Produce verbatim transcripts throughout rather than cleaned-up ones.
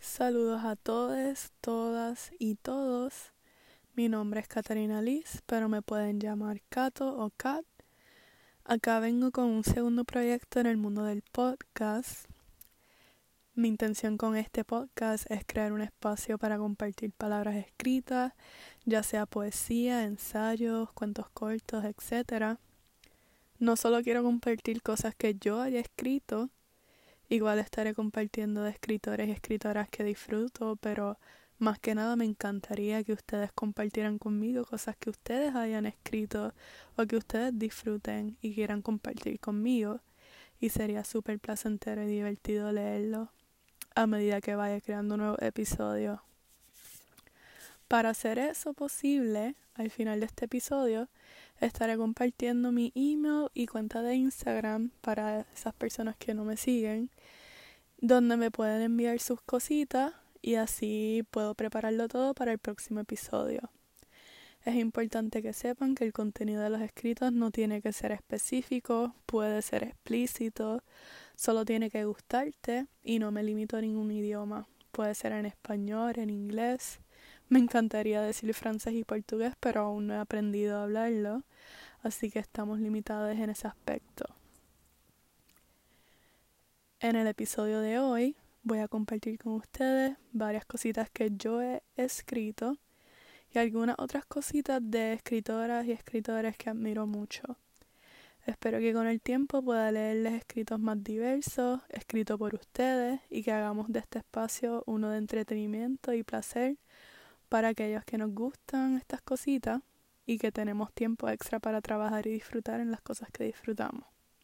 Saludos a todos, todas y todos. Mi nombre es Catarina Liz, pero me pueden llamar Cato o Kat. Acá vengo con un segundo proyecto en el mundo del podcast. Mi intención con este podcast es crear un espacio para compartir palabras escritas, ya sea poesía, ensayos, cuentos cortos, etcétera. No solo quiero compartir cosas que yo haya escrito, igual estaré compartiendo de escritores y escritoras que disfruto, pero más que nada me encantaría que ustedes compartieran conmigo cosas que ustedes hayan escrito o que ustedes disfruten y quieran compartir conmigo. Y sería súper placentero y divertido leerlo a medida que vaya creando un nuevo episodio. Para hacer eso posible, al final de este episodio, estaré compartiendo mi email y cuenta de Instagram para esas personas que no me siguen, donde me pueden enviar sus cositas y así puedo prepararlo todo para el próximo episodio. Es importante que sepan que el contenido de los escritos no tiene que ser específico, puede ser explícito, solo tiene que gustarte y no me limito a ningún idioma. Puede ser en español, en inglés. Me encantaría decir francés y portugués, pero aún no he aprendido a hablarlo, así que estamos limitados en ese aspecto. En el episodio de hoy voy a compartir con ustedes varias cositas que yo he escrito y algunas otras cositas de escritoras y escritores que admiro mucho. Espero que con el tiempo pueda leerles escritos más diversos, escritos por ustedes, y que hagamos de este espacio uno de entretenimiento y placer para aquellos que nos gustan estas cositas y que tenemos tiempo extra para trabajar y disfrutar en las cosas que disfrutamos.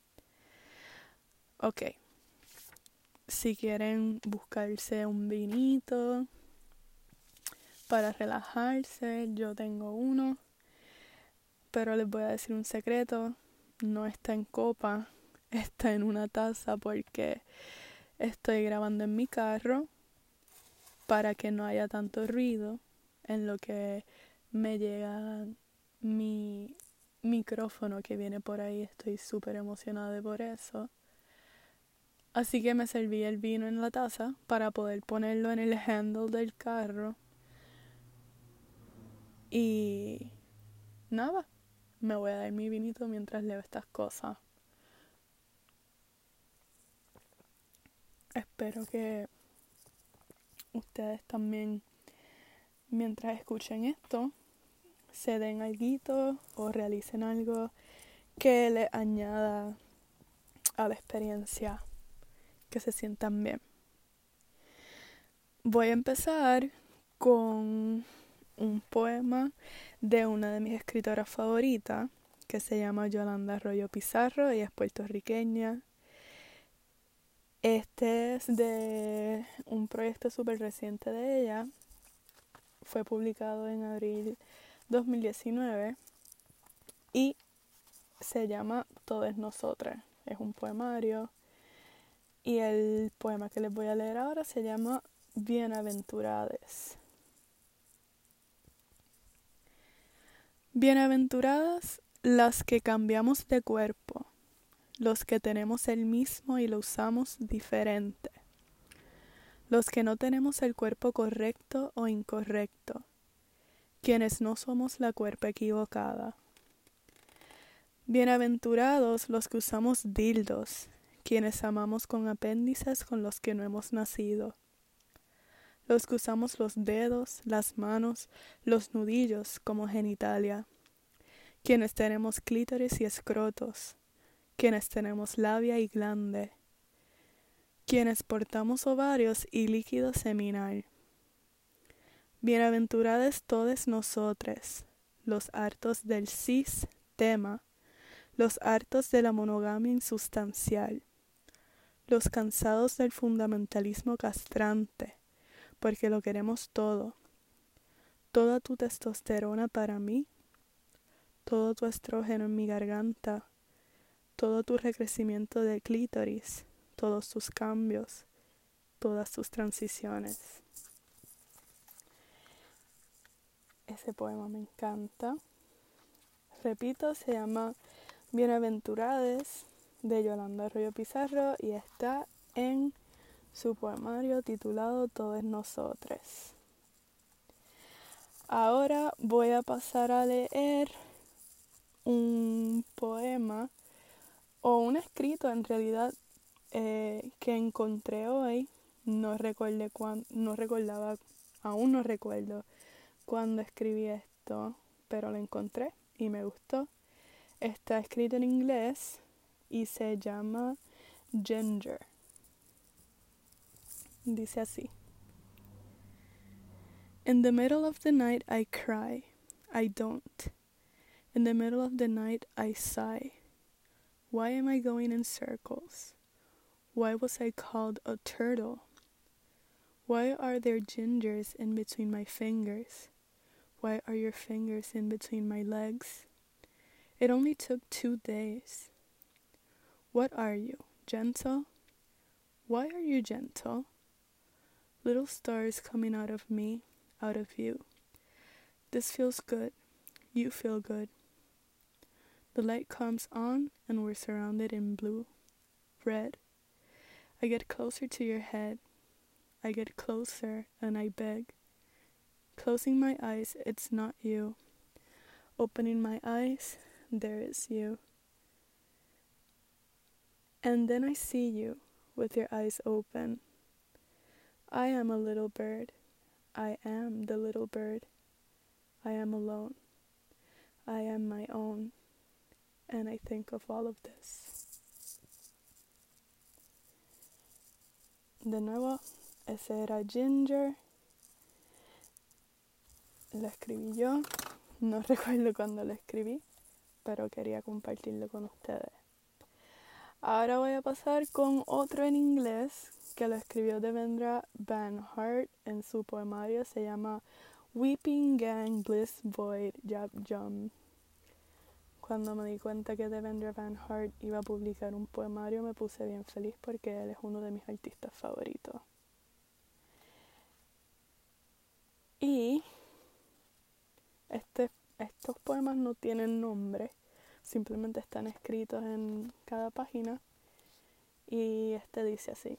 Ok. Si quieren buscarse un vinito para relajarse, yo tengo uno, pero les voy a decir un secreto, no está en copa, está en una taza porque estoy grabando en mi carro para que no haya tanto ruido en lo que me llega mi micrófono que viene por ahí. Estoy súper emocionada por eso. Así que me serví el vino en la taza para poder ponerlo en el handle del carro. Y nada, me voy a dar mi vinito mientras leo estas cosas. Espero que ustedes también, mientras escuchen esto, se den algo o realicen algo que les añada a la experiencia, que se sientan bien. Voy a empezar con un poema de una de mis escritoras favoritas, que se llama Yolanda Arroyo Pizarro. Ella es puertorriqueña. Este es de un proyecto súper reciente de ella. Fue publicado en abril dos mil diecinueve y se llama Todes Nosotras. Es un poemario y el poema que les voy a leer ahora se llama Bienaventurades. Bienaventuradas las que cambiamos de cuerpo, los que tenemos el mismo y lo usamos diferente, los que no tenemos el cuerpo correcto o incorrecto, quienes no somos la cuerpa equivocada. Bienaventurados los que usamos dildos, quienes amamos con apéndices con los que no hemos nacido, los que usamos los dedos, las manos, los nudillos como genitalia, quienes tenemos clítoris y escrotos, quienes tenemos labia y glande, quienes portamos ovarios y líquido seminal. Bienaventuradas todes nosotres, los hartos del cis tema, los hartos de la monogamia insustancial, los cansados del fundamentalismo castrante, porque lo queremos todo, toda tu testosterona para mí, todo tu estrógeno en mi garganta, todo tu recrecimiento de clítoris, todos tus cambios, todas tus transiciones. Ese poema me encanta. Repito, se llama Bienaventurades de Yolanda Arroyo Pizarro y está en su poemario titulado Todos Nosotros. Ahora voy a pasar a leer un poema o un escrito en realidad eh, que encontré hoy. No recordé cuán, no recordaba, aún no recuerdo cuándo escribí esto, pero lo encontré y me gustó. Está escrito en inglés y se llama Ginger. Dice así. In the middle of the night I cry, I don't. In the middle of the night I sigh. Why am I going in circles? Why was I called a turtle? Why are there gingers in between my fingers? Why are your fingers in between my legs? It only took two days. What are you, gentle? Why are you gentle? Little stars coming out of me, out of you. This feels good. You feel good. The light comes on and we're surrounded in blue, red. I get closer to your head. I get closer and I beg. Closing my eyes, it's not you. Opening my eyes, there is you. And then I see you with your eyes open. I am a little bird. I am the little bird. I am alone. I am my own. And I think of all of this. De nuevo, ese era Ginger. Lo escribí yo. No recuerdo cuándo lo escribí, pero quería compartirlo con ustedes. Ahora voy a pasar con otro en inglés que lo escribió Devendra Banhart en su poemario. Se llama Weeping Gang Bliss Void Jab Jum. Cuando me di cuenta que Devendra Banhart iba a publicar un poemario me puse bien feliz porque él es uno de mis artistas favoritos. Y este, estos poemas no tienen nombre, simplemente están escritos en cada página. Y este dice así.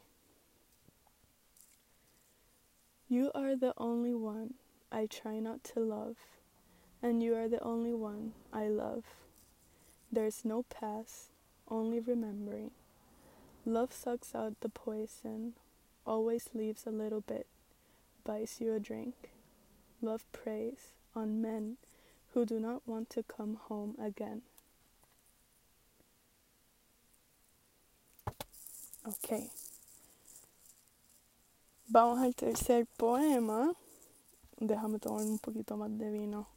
You are the only one I try not to love, and you are the only one I love. There's no past, only remembering. Love sucks out the poison, always leaves a little bit, buys you a drink. Love preys on men who do not want to come home again. Ok. Vamos al tercer poema. Déjame tomar un poquito más de vino.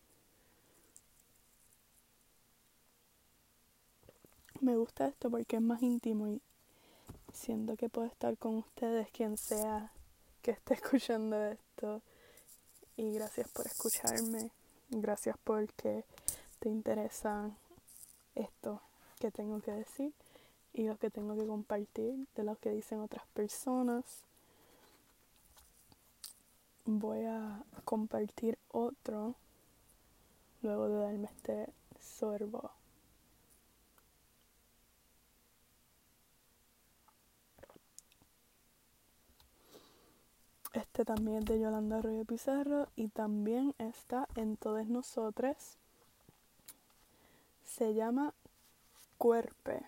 Me gusta esto porque es más íntimo y siento que puedo estar con ustedes, quien sea que esté escuchando esto. Y gracias por escucharme. Gracias porque te interesa esto que tengo que decir y lo que tengo que compartir de lo que dicen otras personas. Voy a compartir otro luego de darme este sorbo. Este también es de Yolanda Arroyo Pizarro y también está en Todos Nosotros. Se llama Cuerpe.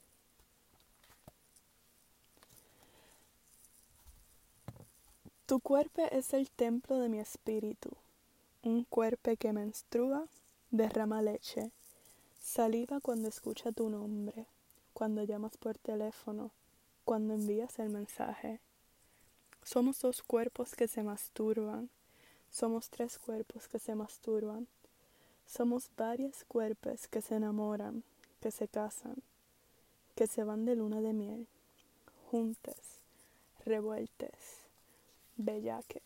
Tu cuerpo es el templo de mi espíritu, un cuerpo que menstrua, derrama leche, saliva cuando escucha tu nombre, cuando llamas por teléfono, cuando envías el mensaje. Somos dos cuerpos que se masturban, somos tres cuerpos que se masturban, somos varios cuerpos que se enamoran, que se casan, que se van de luna de miel, juntes, revueltes, bellaques.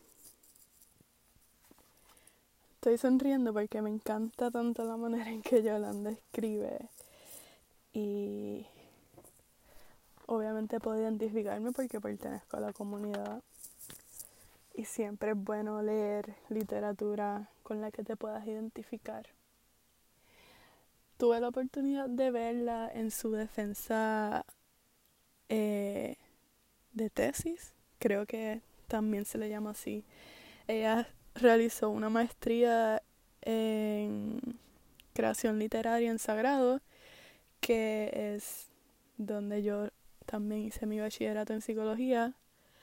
Estoy sonriendo porque me encanta tanto la manera en que Yolanda escribe y obviamente puedo identificarme porque pertenezco a la comunidad y siempre es bueno leer literatura con la que te puedas identificar. Tuve la oportunidad de verla en su defensa eh, de tesis, creo que también se le llama así. Ella realizó una maestría en creación literaria en Sagrado, que es donde yo también hice mi bachillerato en psicología,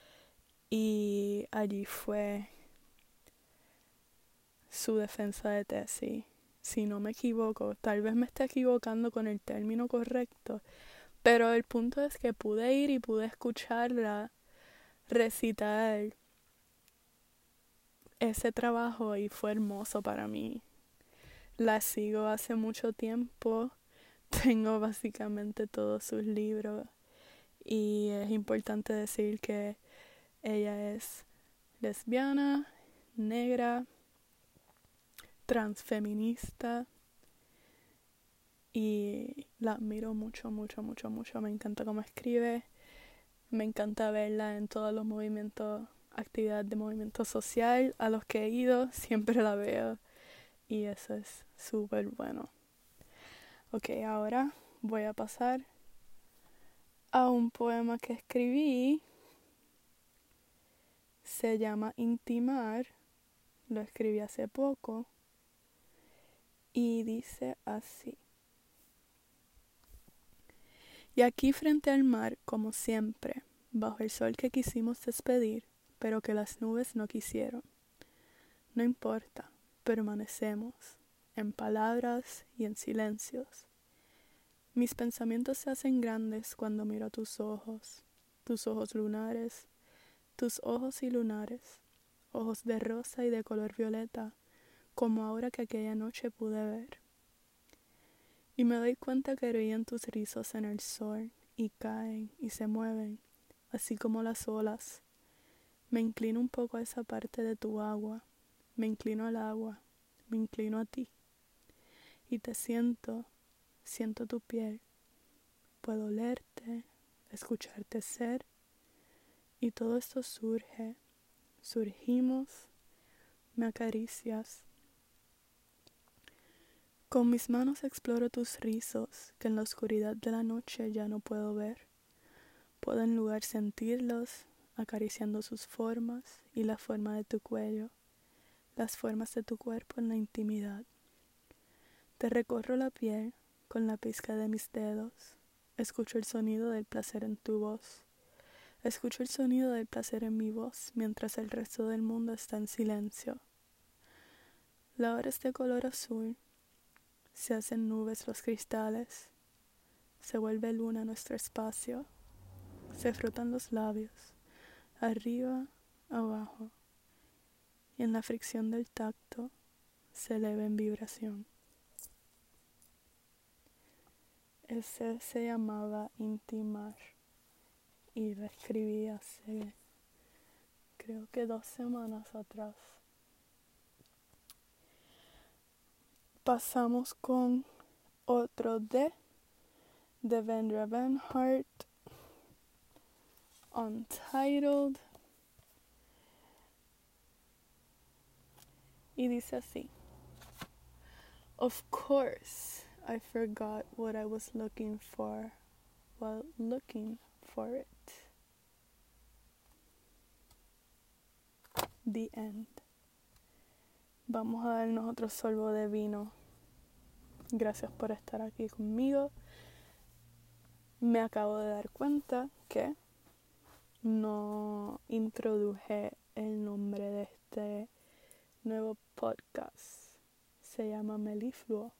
y allí fue su defensa de tesis. Si no me equivoco, tal vez me esté equivocando con el término correcto, pero el punto es que pude ir y pude escucharla recitar ese trabajo y fue hermoso para mí. La sigo hace mucho tiempo, tengo básicamente todos sus libros y es importante decir que ella es lesbiana, negra, transfeminista y la admiro mucho, mucho, mucho, mucho. Me encanta cómo escribe, me encanta verla en todos los movimientos, actividades de movimiento social a los que he ido, siempre la veo y eso es súper bueno. Ok, ahora voy a pasar a un poema que escribí. Se llama Intimar, lo escribí hace poco y dice así. Y aquí frente al mar, como siempre, bajo el sol que quisimos despedir, pero que las nubes no quisieron. No importa, permanecemos, en palabras y en silencios. Mis pensamientos se hacen grandes cuando miro a tus ojos, tus ojos lunares, tus ojos y lunares, ojos de rosa y de color violeta, como ahora que aquella noche pude ver. Y me doy cuenta que brillan tus rizos en el sol, y caen y se mueven, así como las olas. Me inclino un poco a esa parte de tu agua, me inclino al agua, me inclino a ti. Y te siento, siento tu piel, puedo olerte, escucharte ser, y todo esto surge, surgimos, me acaricias. Con mis manos exploro tus rizos, que en la oscuridad de la noche ya no puedo ver. Puedo en lugar sentirlos, acariciando sus formas y la forma de tu cuello, las formas de tu cuerpo en la intimidad. Te recorro la piel con la pizca de mis dedos, escucho el sonido del placer en tu voz, escucho el sonido del placer en mi voz mientras el resto del mundo está en silencio. La hora es de color azul, se hacen nubes los cristales, se vuelve luna nuestro espacio, se frotan los labios, arriba, abajo, y en la fricción del tacto se eleva en vibración. Ese se llamaba Intimar y lo escribí hace creo que dos semanas atrás. Pasamos con otro de Devendra Banhart, Untitled, y dice así. Of course, I forgot what I was looking for while looking for it. The end. Vamos a darnos otro sorbo de vino. Gracias por estar aquí conmigo. Me acabo de dar cuenta que no introduje el nombre de este nuevo podcast. Se llama Melifluo.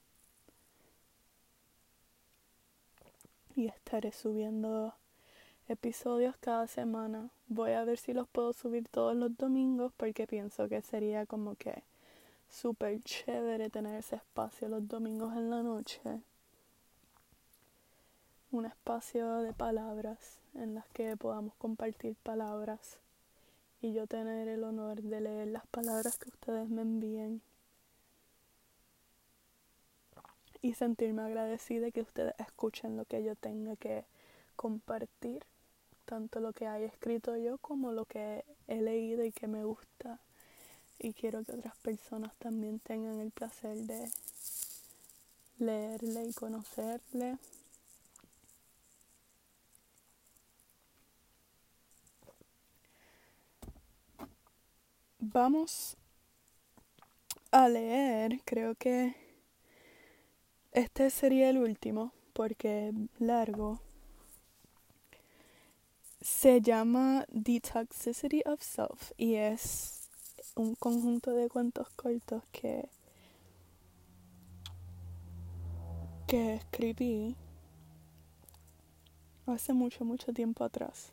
Y estaré subiendo episodios cada semana. Voy a ver si los puedo subir todos los domingos porque pienso que sería como que súper chévere tener ese espacio los domingos en la noche. Un espacio de palabras en las que podamos compartir palabras y yo tener el honor de leer las palabras que ustedes me envíen y sentirme agradecida de que ustedes escuchen lo que yo tenga que compartir, tanto lo que haya escrito yo como lo que he leído y que me gusta, y quiero que otras personas también tengan el placer de leerle y conocerle. vamos a leer, creo que este sería el último, porque es largo. Se llama The Toxicity of Self y es un conjunto de cuentos cortos que, que escribí hace mucho, mucho tiempo atrás.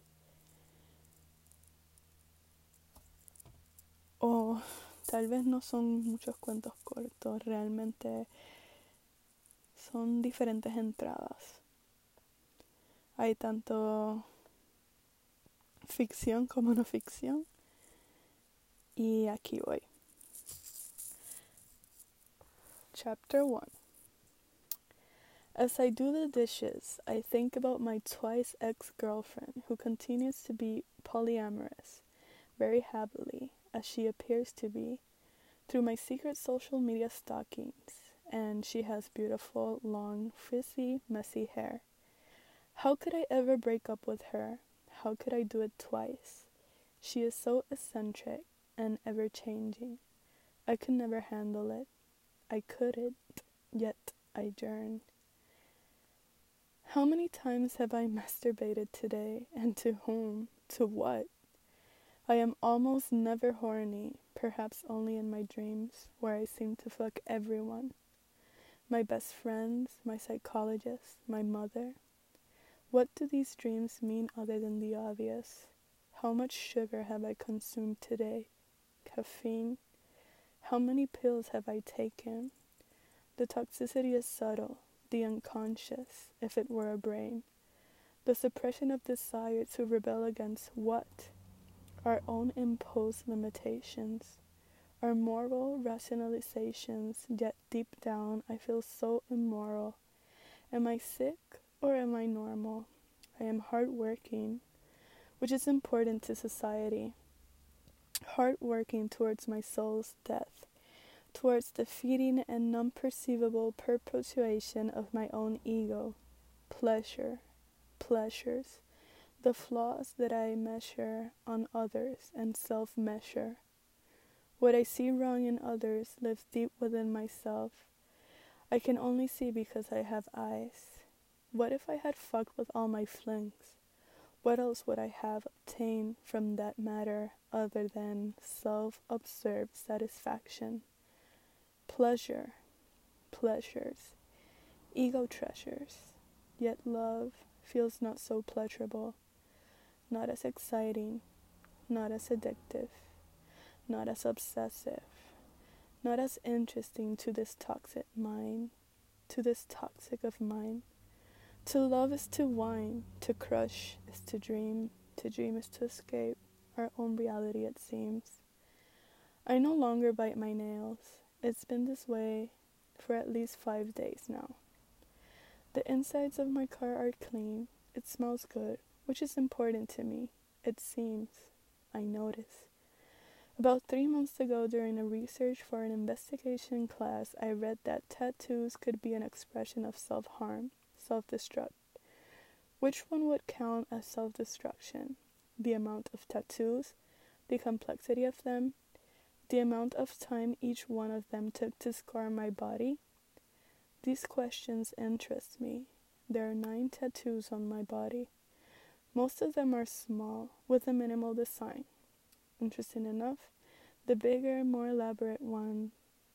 O tal vez no son muchos cuentos cortos, realmente son diferentes entradas. Hay tanto ficción como no ficción. Y aquí voy. Chapter one. As I do the dishes, I think about my twice ex-girlfriend who continues to be polyamorous, very happily, as she appears to be, through my secret social media stalkings, and she has beautiful, long, frizzy, messy hair. How could I ever break up with her? How could I do it twice? She is so eccentric and ever-changing. I could never handle it. I couldn't, yet I yearn. How many times have I masturbated today, and to whom, to what? I am almost never horny, perhaps only in my dreams, where I seem to fuck everyone. My best friends, my psychologist, my mother. What do these dreams mean other than the obvious? How much sugar have I consumed today? Caffeine? How many pills have I taken? The toxicity is subtle, the unconscious, if it were a brain. The suppression of desire to rebel against what? Our own imposed limitations, our moral rationalizations, yet deep down I feel so immoral. Am I sick or am I normal? I am hardworking, which is important to society. Hardworking towards my soul's death, towards the feeding and non-perceivable perpetuation of my own ego. Pleasure, pleasures, the flaws that I measure on others and self-measure. What I see wrong in others lives deep within myself. I can only see because I have eyes. What if I had fucked with all my flings? What else would I have obtained from that matter other than self-observed satisfaction? Pleasure, pleasures, ego treasures, yet love feels not so pleasurable, not as exciting, not as addictive, not as obsessive, not as interesting to this toxic mind, to this toxic of mine. To love is to whine, to crush is to dream, to dream is to escape our own reality, it seems. I no longer bite my nails. It's been this way for at least five days now. The insides of my car are clean. It smells good, which is important to me. It seems. I notice. About three months ago, during a research for an investigation class, I read that tattoos could be an expression of self-harm. Self-destruct. Which one would count as self-destruction? The amount of tattoos, the complexity of them, the amount of time each one of them took to scar my body? These questions interest me. There are nine tattoos on my body. Most of them are small, with a minimal design. Interesting enough, the bigger, more elaborate ones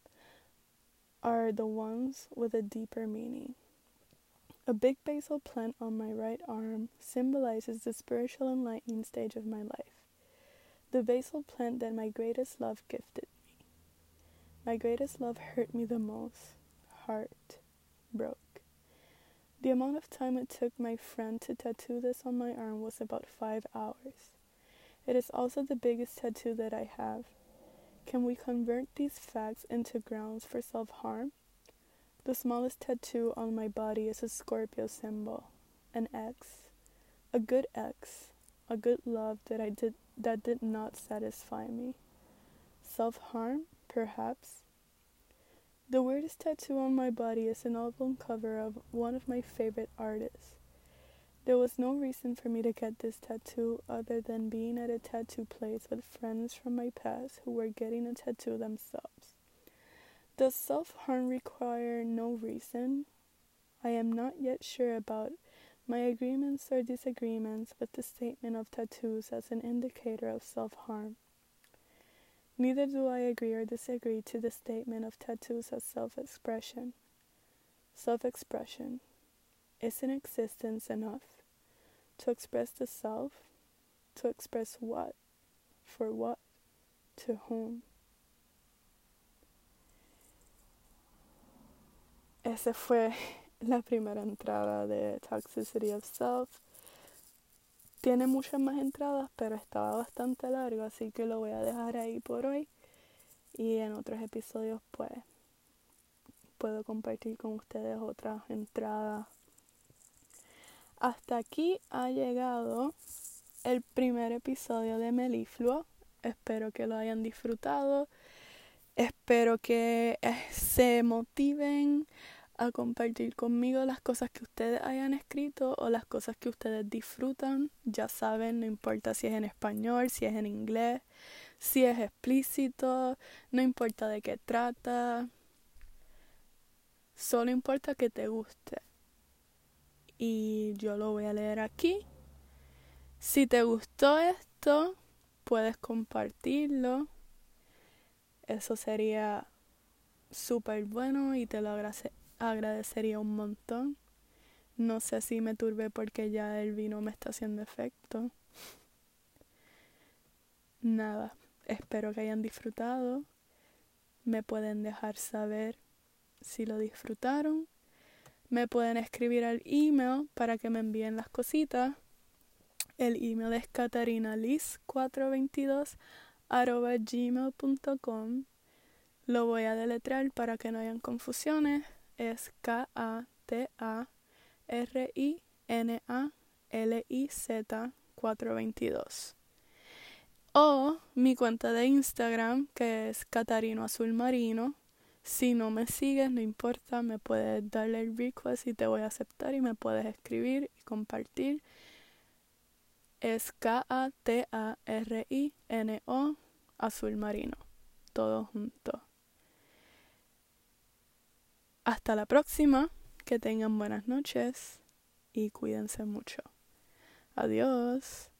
are the ones with a deeper meaning. A big basil plant on my right arm symbolizes the spiritual enlightening stage of my life. The basil plant that my greatest love gifted me. My greatest love hurt me the most. Heart broke. The amount of time it took my friend to tattoo this on my arm was about five hours. It is also the biggest tattoo that I have. Can we convert these facts into grounds for self-harm? The smallest tattoo on my body is a Scorpio symbol, an X, a good X, a good love that I did that did not satisfy me. Self-harm, perhaps. The weirdest tattoo on my body is an album cover of one of my favorite artists. There was no reason for me to get this tattoo other than being at a tattoo place with friends from my past who were getting a tattoo themselves. Does self-harm require no reason? I am not yet sure about my agreements or disagreements with the statement of tattoos as an indicator of self-harm. Neither do I agree or disagree to the statement of tattoos as self-expression. Self-expression. Isn't existence enough? To express the self? To express what? For what? To whom? Esa fue la primera entrada de Toxicity of Self. Tiene muchas más entradas, pero estaba bastante largo, así que lo voy a dejar ahí por hoy. Y en otros episodios, pues, puedo compartir con ustedes otras entradas. Hasta aquí ha llegado el primer episodio de Melifluo. Espero que lo hayan disfrutado. Espero que se motiven a compartir conmigo las cosas que ustedes hayan escrito o las cosas que ustedes disfrutan. Ya saben, no importa si es en español, si es en inglés, si es explícito, no importa de qué trata. Solo importa que te guste. Y yo lo voy a leer aquí. Si te gustó esto, puedes compartirlo. Eso sería súper bueno y te lo agrade- agradecería un montón. No sé si me turbé porque ya el vino me está haciendo efecto. Nada, espero que hayan disfrutado. Me pueden dejar saber si lo disfrutaron. Me pueden escribir al email para que me envíen las cositas. El email es catarinaliz cuatro veintidós arroba gmail punto com. Lo voy a deletrear para que no hayan confusiones. Es K A T A R I N A L I Z cuatro veintidós. O mi cuenta de Instagram, que es Catarino Azul Marino. Si no me sigues, no importa, me puedes darle el request y te voy a aceptar y me puedes escribir y compartir. Es K A T A R I N O Azul Marino. Todo junto. Hasta la próxima. Que tengan buenas noches y cuídense mucho. Adiós.